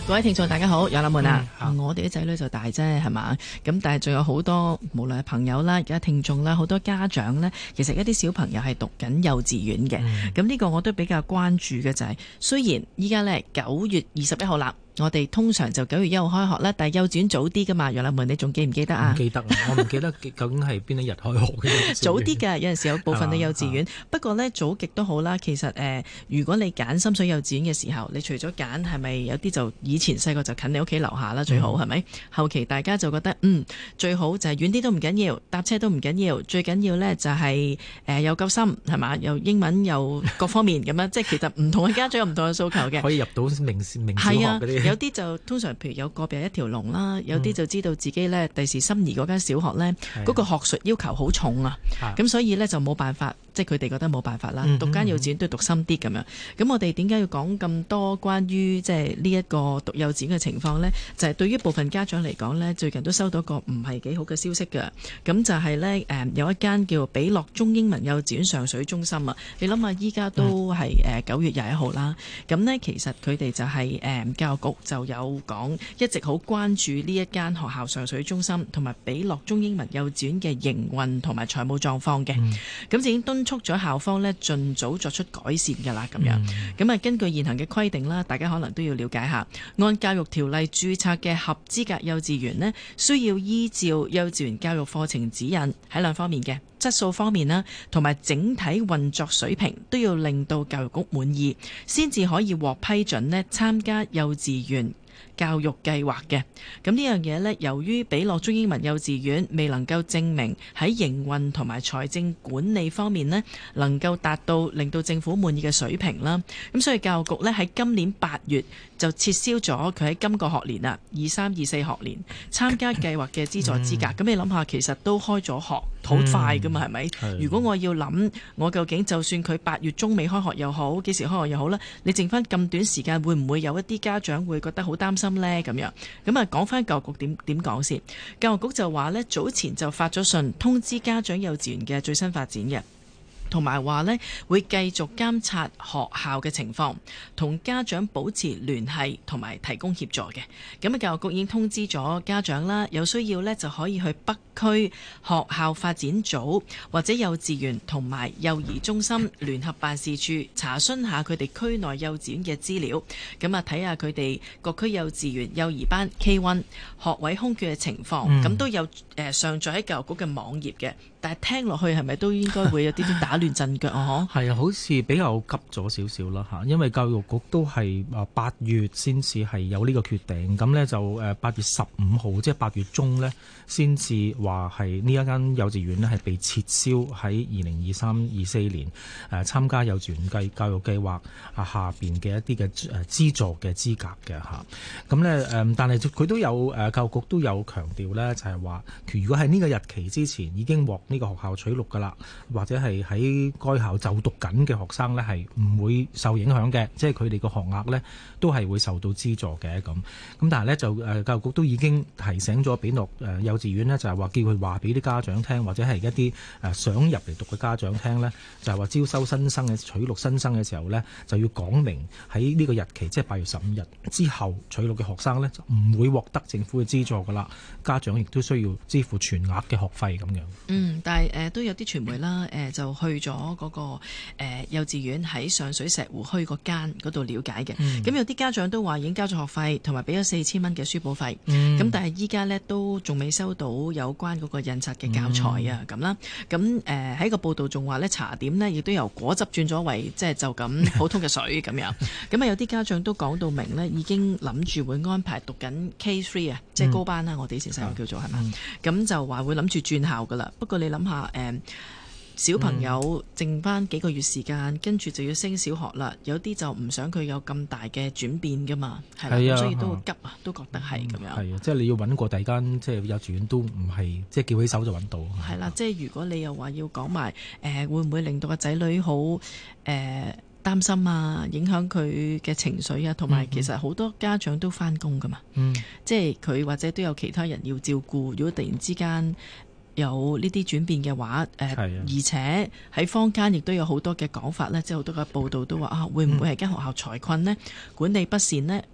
各位聽眾大家好，有啦們啊，我哋啲仔女就大啫，係嘛？咁但係仲有好多，無論係朋友啦，而家聽眾啦，好多家長呢，其實一啲小朋友係讀緊幼稚園嘅。咁呢個我都比較關注嘅就係，雖然依家呢9月21號啦。我哋通常就9月1號開學啦，但係幼稚園早啲噶嘛，楊立文你仲記唔記得啊？ 唔記得啊，我唔記得究竟係邊一日開學嘅。 早啲㗎，有陣時有部分嘅幼稚園。不過呢，早極都好啦。其實如果你揀深水幼稚園嘅時候，你除咗揀係咪有啲就以前細個就近你屋企樓下啦，最好係咪？後期大家就覺得最好就係遠啲都唔緊要，搭車都唔緊要，最緊要呢就係又夠深係嘛，又英文又各方面咁樣，即係其實唔同嘅家長有唔同嘅訴求嘅。 可以入到名小學嗰啲。 有啲就通常譬如有個別一條龍啦，有啲就知道自己呢第時心儀嗰間小學呢，嗰個學術要求好重啊，咁所以呢，就冇辦法，即係佢哋覺得冇辦法啦，讀間幼稚園都要讀深啲咁樣。咁我哋點解要講咁多關於即係呢一個讀幼稚園嘅情況呢？就係對於部分家長嚟講呢，最近都收到一個唔係幾好嘅消息㗎。咁就係呢，有一間叫比樂中英文幼稚園上水中心啊，你諗下依家都係9月21號啦。咁呢，其實佢哋就係教育局就有講，一直好關注呢一間學校上水中心同埋比樂中英文幼稚園嘅營運同埋財務狀況嘅。咁已經敦促咗校方呢盡早作出改善㗎啦，咁樣。咁啊，根據現行嘅規定啦，大家可能都要了解下，按教育條例註冊嘅合資格幼稚園呢，需要依照幼稚園教育課程指引喺兩方面嘅質素方面啦，同埋整體運作水平都要令到教育局滿意，先至可以獲批准呢參加幼稚園教育計劃嘅。咁呢樣嘢呢，由於比樂中英文幼稚園未能夠證明喺營運同埋財政管理方面呢，能夠達到令到政府滿意嘅水平啦，咁所以教育局呢，喺今年8月就撤銷咗佢喺今個學年啊23-24學年參加計劃嘅資助資格。咁你諗下，其實都開咗學好快噶嘛，係咪？如果我要諗，我究竟就算佢8月中尾開學又好，幾時開學又好啦，你剩翻咁短時間，會唔會有一啲家長會覺得好擔心呢？咁樣咁啊，講翻教育局點講先。教育局就話呢，早前就發咗信通知家長幼稚園嘅最新發展嘅。同埋話呢，會繼續監察學校嘅情況，同家長保持聯繫同埋提供協助嘅。咁啊，教育局已經通知咗家長啦，有需要呢就可以去北區學校發展組或者幼稚園同埋幼兒中心聯合辦事處查詢下佢哋區內幼稚園嘅資料。咁啊，睇下佢哋各區幼稚園幼兒班 K1 學位空缺嘅情況。咁都有上載喺教育局嘅網頁嘅。但係聽落去係咪都應該會有啲啲打亂陣腳啊？ 係啊，好似比較急咗少少啦嚇，因為教育局都係8月先至係有呢個決定，咁呢就8月15號，即係8月中呢，先至話係呢一間幼稚園呢係被撤銷喺2023-24年參加幼稚園教育計劃下邊嘅一啲嘅資助嘅資格嘅嚇。咁呢，但係佢都有教育局都有強調呢，就係話如果喺呢個日期之前已經獲呢個學校取錄㗎啦，或者係喺該校就讀緊嘅學生呢，係唔會受影響嘅，即係佢哋個學額呢都係會受到資助嘅咁。咁但係呢，就教育局都已經提醒咗比樂幼稚園呢，就係話叫佢話俾啲家長聽，或者係一啲想入嚟讀嘅家長聽呢，就係話招收新生嘅取錄新生嘅時候呢，就要講明喺呢個日期，即係8月15日之後取錄嘅學生呢，就唔會獲得政府嘅資助㗎啦。家長亦都需要支付全額嘅學費咁樣。 但係都有啲傳媒啦，就去咗嗰個幼稚園喺上水石湖墟嗰間嗰度了解嘅。咁有啲家長都話已經交咗學費，同埋俾咗4000蚊嘅書簿費。咁但係依家呢都仲未收到有關嗰個印刷嘅教材啊咁啦。咁喺個報道仲話呢，茶點呢亦都由果汁轉咗為即係就咁普通嘅水咁樣。咁啊有啲家長都講到明呢，已經諗住會安排讀緊 K3 啊，即係高班啦，我哋以前細個叫做係嘛。咁就話會諗住轉校噶啦。不過你諗下小朋友剩翻幾個月時間，跟住就要升小學啦。有啲就唔想佢有咁大嘅轉變噶嘛，係啦，所以都急啊，都覺得係咁樣。 係啊，即係你要揾過第二間即係幼稚園都唔係即係叫起手就揾到。 係啦，即係如果你又話要講埋會唔會令到個仔女好擔心啊，影響佢嘅情緒啊，同埋其實好多家長都翻工噶嘛，即係佢或者都有其他人要照顧。如果突然之間有呢啲轉變嘅話，而且喺坊間亦都有好多嘅講法呢，即係好多嘅報道都話會唔會係間學校財困呢？管理不善呢？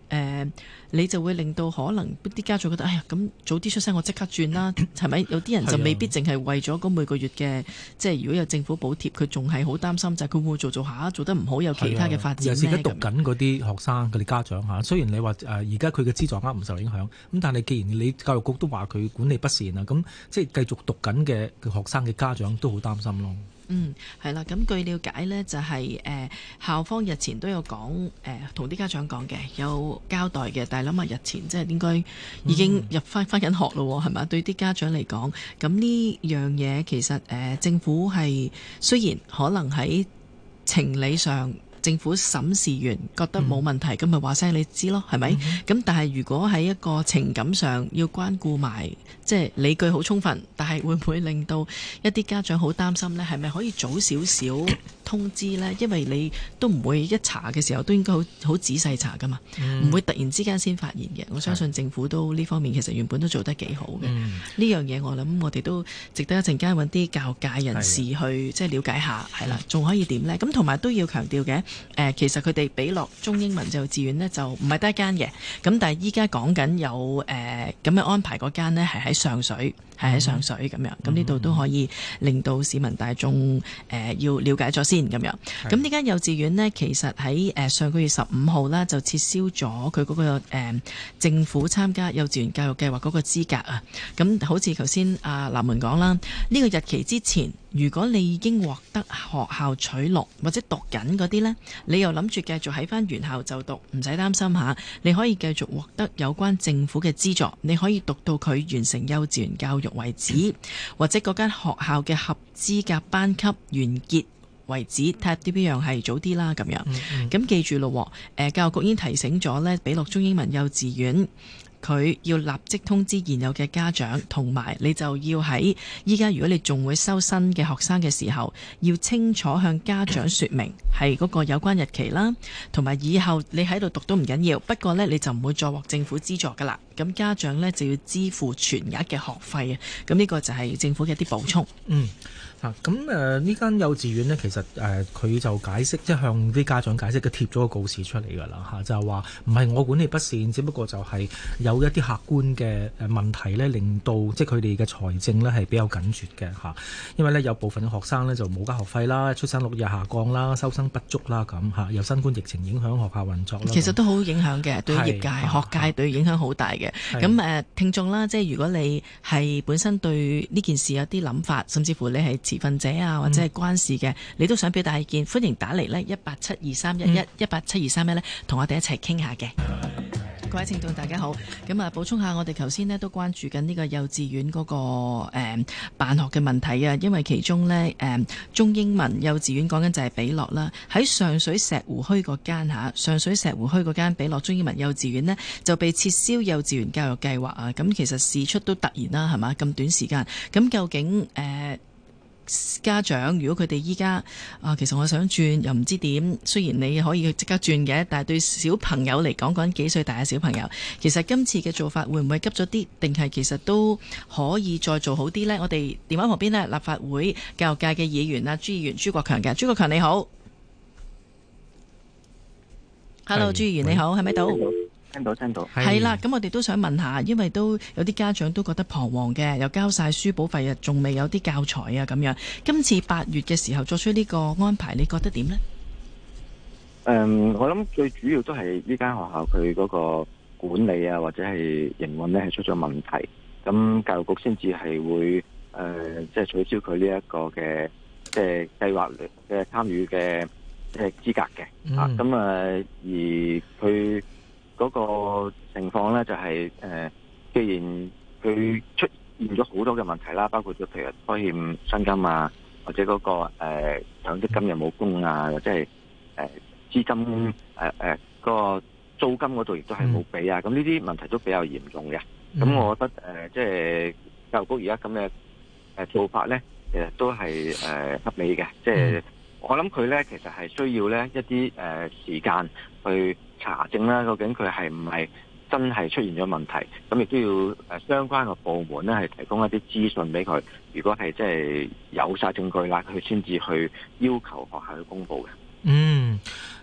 你就會令到可能啲家長覺得，哎呀，咁早啲出聲，我即刻轉啦，係咪？有啲人就未必淨係為咗嗰每個月嘅，即係如果有政府補貼，佢仲係好擔心就係佢會唔會做下做得唔好，有其他嘅發展呢？ 而家讀緊嗰啲學生，佢哋家長嚇，雖然你話而家佢嘅資助額唔受影響，咁但係既然你教育局都話佢管理不善啊，咁即係繼續讀緊嘅學生嘅家長都好擔心咯。 係啦，咁據了解呢，就係校方日前都有講，同啲家長講嘅，有交代嘅。但係諗下日前即係應該已經入翻緊學咯，係咪？對啲家長嚟講，咁呢樣嘢其實政府係雖然可能喺情理上，政府審視完覺得冇問題，咁咪話聲你知咯，係咪？咁但係如果喺一個情感上要關顧埋，即係理據好充分，但係會唔會令到一啲家長好擔心呢？係咪可以早少少通知呢？因為你都唔會一查嘅時候都應該好仔細查噶嘛，唔會突然之間先發現嘅。我相信政府都呢方面其實原本都做得幾好嘅。呢樣嘢我諗我哋都值得一陣間揾啲教育界人士去即係了解下，係啦，仲可以點呢？咁同埋都要強調嘅。其實佢哋比樂中英文幼稚園呢，就唔係得一間嘅，咁但係依家講緊有咁嘅安排嗰間呢，係喺上水，咁樣，咁呢度都可以令到市民大眾要了解咗先咁樣。咁呢間幼稚園呢，其實喺上個月15號啦，就撤銷咗佢嗰個政府參加幼稚園教育計劃嗰個資格啊。咁好似頭先阿南門講啦，呢個日期之前，如果你已經獲得學校取錄或者讀緊嗰啲呢，你又諗住繼續喺翻原校就讀，唔使擔心下，你可以繼續獲得有關政府嘅資助，你可以讀到佢完成幼稚園教育為止，或者嗰間學校嘅合資格班級完結為止，睇下啲邊樣係早啲啦咁樣。咁記住咯，教育局已經提醒咗呢，比樂中英文幼稚園。佢要立即通知現有嘅家長，同埋你就要喺依家如果你仲會收新嘅學生嘅時候，要清楚向家長說明係嗰個有關日期啦，同埋以後你喺度讀都唔緊要，不過呢，你就唔會再獲政府資助噶啦。咁家長呢，就要支付全額嘅學費啊。咁呢個就係政府嘅一啲補充。 咁呢間幼稚園呢，其實佢就解釋，即係向啲家長解釋，佢貼咗個告示出嚟㗎啦，就係話唔係我管理不善，只不過就係有一啲客觀嘅問題呢，令到即係佢哋嘅財政呢係比較緊絀嘅嚇。因為呢，有部分嘅學生呢就冇交學費啦，出生率又下降啦，收生不足啦咁嚇，有新冠疫情影響學校運作啦。其實都好影響嘅，對業界、學界對影響好大嘅。咁聽眾啦，即係如果你係本身對呢件事有啲諗法，甚至乎你係持份者啊，或者係關事嘅，你都想表達意見，歡迎打嚟呢1872311，1872311呢，同我哋一齊傾下嘅。各位聽眾大家好，咁啊補充下，我哋頭先呢都關注緊呢個幼稚園嗰個辦學嘅問題啊，因為其中呢中英文幼稚園講緊就係比樂啦，喺上水石湖墟嗰間上水石湖墟嗰間比樂中英文幼稚園呢，就被撤銷幼稚園教育計劃啊，咁其實事出都突然啦，係嘛？咁短時間，咁究竟家長如果佢哋依家其實我想轉又唔知點，雖然你可以即刻轉嘅，但係對小朋友嚟講，講緊幾歲大嘅小朋友，其實今次嘅做法會唔會急咗啲，定係其實都可以再做好啲呢？我哋電話旁邊呢，立法會教育界嘅議員啊，朱議員朱國強嘅，朱國強你好。Hello， 朱議員你好，係咪到？ 聽到係啦，咁我哋都想問下，因為都有啲家長都覺得彷徨嘅，又交晒書簿費啊，仲未有啲教材啊咁樣。今次8月嘅時候作出呢個安排，你覺得點呢？ 我諗最主要都係呢間學校佢嗰個管理啊，或者係營運呢係出咗問題，咁教育局先至係會即係取消佢呢一個嘅即係計劃嘅參與嘅即係資格嘅。咁而佢嗰個情況咧就係既然佢出現咗好多嘅問題啦，包括咗譬如拖欠薪金啊，或者嗰個強積金又冇供啊，或者係資金嗰個租金嗰度亦都係冇俾啊，咁呢啲問題都比較嚴重嘅。咁我覺得即係教育局而家咁嘅做法咧，其實都係合理嘅。即係我諗佢咧其實係需要咧一啲時間去查證啦，究竟佢係唔係真係出現咗問題？咁亦都要相關嘅部門咧係提供一啲資訊俾佢。如果係即係有晒證據啦，佢先至去要求學校去公佈嘅。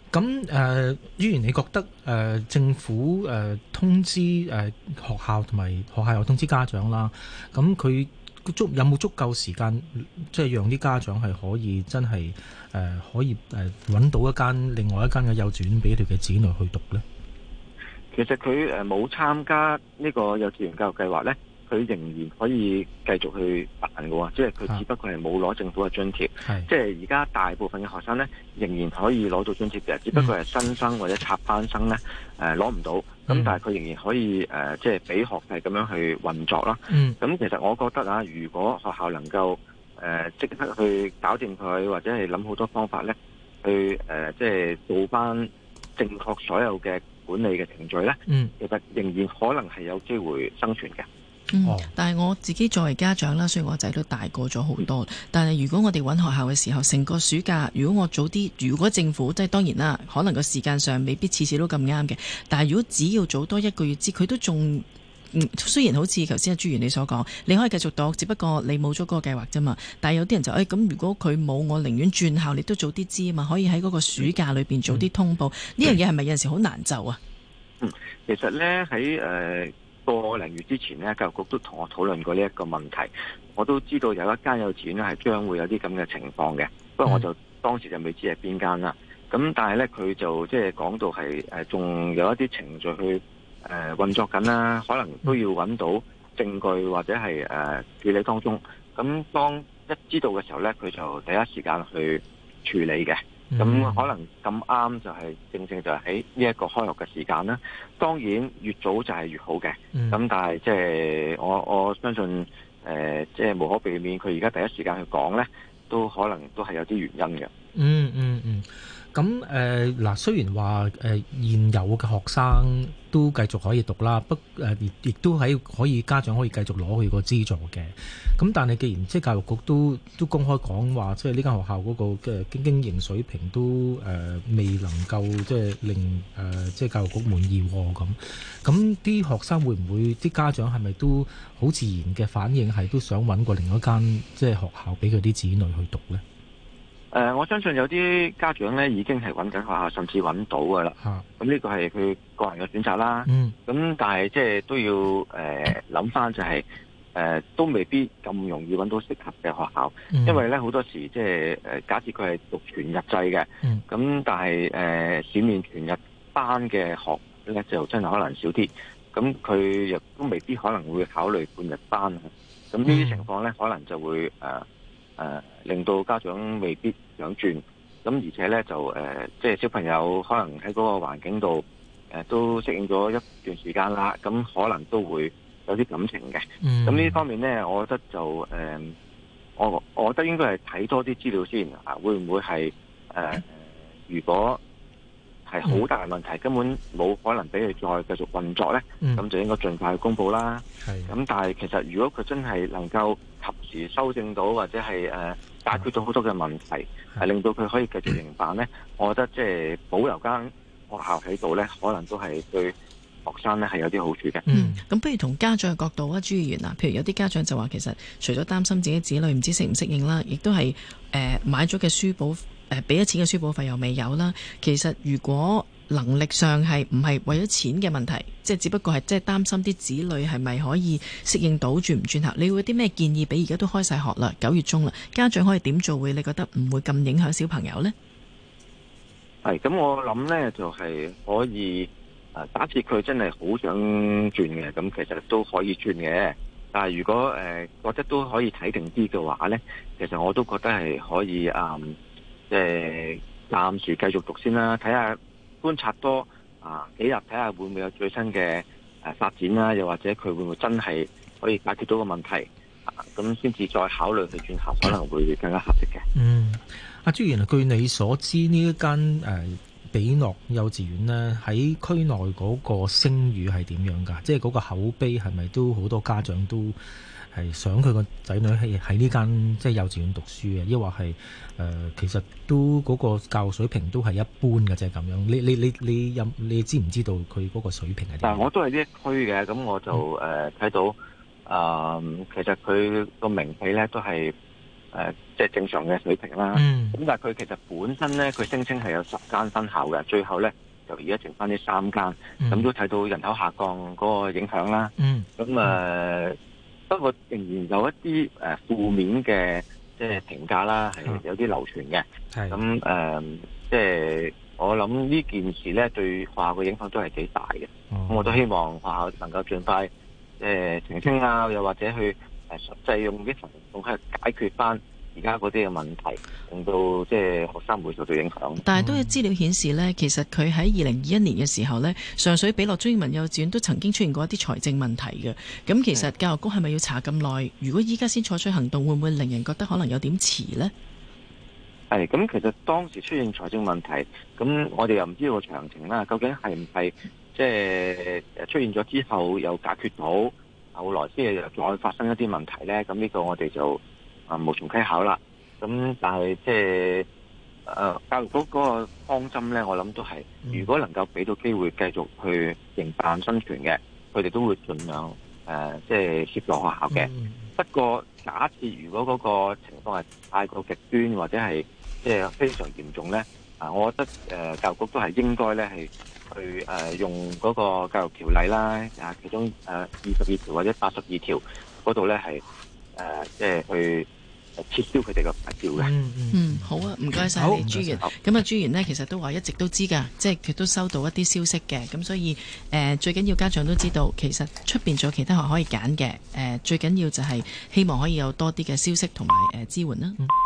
咁朱元，你覺得政府通知學校同埋學校又通知家長啦，咁佢有冇足夠時間，即係讓啲家長係可以真係可以揾到另外一間嘅幼稚園俾佢嘅子女去讀呢？ 其實佢冇參加呢個幼稚園教育計劃呢，佢仍然可以繼續去辦嘅喎，即係佢只不過係冇攞政府嘅津貼。即係而家大部分嘅學生呢，仍然可以攞到津貼嘅，只不過係新生或者插班生呢攞唔到。咁但係佢仍然可以即係俾學費咁樣去運作啦。咁其實我覺得啊，如果學校能夠即刻去搞掂佢，或者係諗好多方法呢，去即係做翻正確所有嘅管理嘅程序呢，其實仍然可能係有機會生存嘅。 但係我自己作為家長啦，雖然我仔都大個咗好多，但係如果我哋揾學校嘅時候，成個暑假，如果我早啲，如果政府即係當然啦，可能個時間上未必次次都咁啱嘅，但係如果只要早多1個月知，佢都仲雖然好似頭先阿朱元你所講，你可以繼續讀，只不過你冇咗嗰個計劃啫嘛。但係有啲人就咁，如果佢冇，我寧願轉校，你都早啲知啊嘛，可以喺嗰個暑假裏邊早啲通報。呢樣嘢係咪有陣時好難就啊？ 其實呢，喺個零月之前呢，教育局都同我討論過呢一個問題。我都知道有一間幼稚園呢係將會有啲咁嘅情況嘅，不過我就當時就未知係邊間啦。咁但係呢，佢就即係講到係仲有一啲程序去運作緊啦，可能都要揾到證據或者係處理當中。咁當一知道嘅時候呢，佢就第一時間去處理嘅。咁可能咁啱就係正正就係喺呢一個開學嘅時間啦。當然越早就係越好嘅。咁但係即係我相信即係無可避免，佢而家第一時間去講呢，都可能都係有啲原因嘅。 咁嗱，雖然話現有嘅學生都繼續可以讀啦，亦都可以家長可以繼續攞佢個資助嘅。咁但係既然即係教育局都公開講話，即係呢間學校嗰個嘅經營水平都未能夠即係令即係教育局滿意咁啲學生會唔會啲家長係咪都好自然嘅反應係都想揾過另一間即係學校俾佢啲子女去讀呢？ 我相信有啲家長咧已經係揾緊學校，甚至揾到噶啦。咁呢個係佢個人嘅選擇啦。咁但係即係都要諗翻就係都未必咁容易揾到適合嘅學校，因為咧好多時即係假設佢係讀全日制嘅，咁但係市面全日班嘅學咧就真係可能少啲，咁佢亦都未必可能會考慮半日班。咁呢啲情況咧可能就會令到家長未必想轉，咁而且咧就即係小朋友可能喺嗰個環境度都適應咗一段時間啦，咁可能都會有啲感情嘅。咁呢方面咧，我覺得就我覺得應該係睇多啲資料先啊，會唔會係如果係好大嘅問題，根本冇可能俾佢再繼續運作咧，咁就應該盡快去公佈啦。咁但係其實如果佢真係能夠及時修正到，或者係解決到好多嘅問題，令到佢可以繼續營辦咧，我覺得即係保留間學校喺度咧，可能都係對學生咧係有啲好處嘅。 咁不如從家長嘅角度啊，朱議員啊，譬如有啲家長就話其實除咗擔心自己子女唔知適唔適應啦，亦都係買咗嘅書簿俾咗錢嘅書簿費又未有啦。其實如果能力上係唔係為咗錢嘅問題，即係只不過係即係擔心啲子女係咪可以適應到轉唔轉校，你會有啲咩建議俾而家都開晒學啦，9月中啦，家長可以點做會你覺得唔會咁影響小朋友呢？ 咁我諗呢就係可以假設佢真係好想轉嘅，咁其實都可以轉嘅。但係如果覺得都可以睇定啲嘅話呢，其實我都覺得係可以即係暫時繼續讀先啦，睇下觀察多幾日，睇下會唔會有最新嘅發展啦，又或者佢會唔會真係可以解決到個問題，咁先至再考慮去轉校，可能會更加合適嘅。 阿朱議員，據你所知呢一間比諾幼稚園呢，喺區內嗰個聲譽係點樣㗎？即係嗰個口碑係咪都好多家長都係想佢個仔女喺呢間即係幼稚園讀書嘅，抑或係其實都嗰個教育水平都係一般嘅啫咁樣。你知唔知道佢嗰個水平係點？ 但係我都係呢一區嘅，咁我就睇到其實佢個名氣咧都係即係正常嘅水平啦。咁但係佢其實本身咧，佢聲稱係有10間分校嘅，最後咧就而家剩翻呢3間，咁都睇到人口下降嗰個影響啦。咁不過仍然有一啲負面嘅即係評價啦，係有啲流傳嘅。咁即係我諗呢件事咧對學校嘅影響都係幾大嘅。咁我都希望學校能夠盡快澄清啊，又或者去實際用啲行動去解決翻而家嗰啲嘅問題，令到即係學生唔會受到影響。 但係都有資料顯示呢，其實佢喺2021年嘅時候呢，上水比樂中英文幼稚園都曾經出現過一啲財政問題嘅。咁其實教育局係咪要查咁耐？如果依家先採取行動，會唔會令人覺得可能有點遲呢？ 係咁，其實當時出現財政問題，咁我哋又唔知道個詳情啦。究竟係唔係即係出現咗之後又解決到，後來先又再發生一啲問題呢？咁呢個我哋就無從稽考啦。咁但係即係教育局嗰個方針呢，我諗都係如果能夠俾到機會繼續去營辦生存嘅，佢哋都會盡量即係協助學校嘅。不過假設如果嗰個情況係太過極端或者係即係非常嚴重呢，我覺得教育局都係應該呢係去用嗰個教育條例啦，其中22條或者82條嗰度呢係即係去撤銷佢哋嘅牌照嘅。 好啊，唔該晒你朱元。咁朱元呢，其實都話一直都知㗎，即係佢都收到一啲消息嘅。咁所以最緊要家長都知道，其實出邊仲有其他學可以揀嘅。最緊要就係希望可以有多啲嘅消息同埋支援啦。